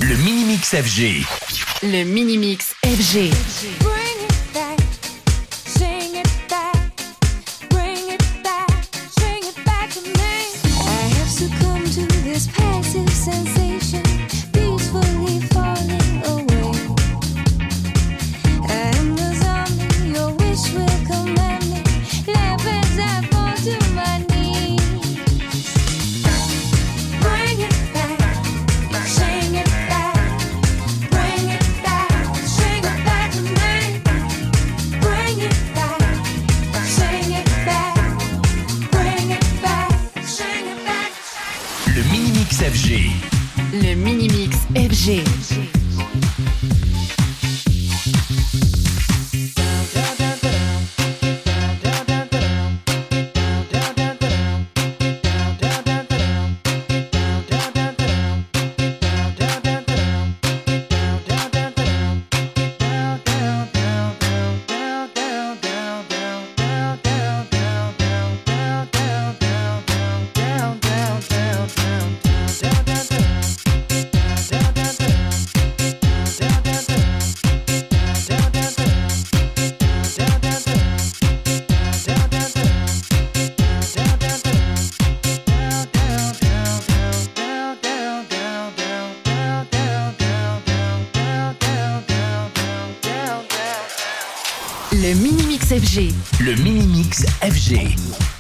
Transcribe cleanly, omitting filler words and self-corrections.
Le Mini-Mix FG. Le Mini-Mix FG. Sensation peacefully falling away, and the zombie, your wish will command me. Laugh as I fall to my knees. Bring it back, sing it back, bring it back, sing it back to me. Bring it back, sing it back, bring it back, sing it back. Le Mini-Mix FG. Le Mini-Mix FG. Le Mini-Mix FG. Le Mini-Mix FG.